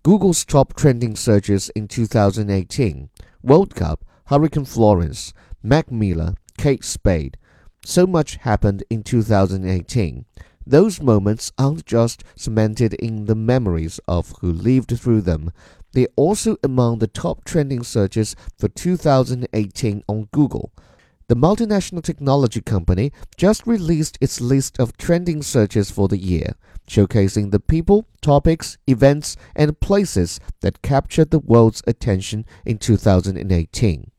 Google's top trending searches in 2018: World Cup, Hurricane Florence, Mac Miller, Kate Spade. So much happened in 2018. Those moments aren't just cemented in the memories of who lived through them. They're also among the top trending searches for 2018 on Google. The multinational technology company just released its list of trending searches for the year, showcasing the people, topics, events, and places that captured the world's attention in 2018.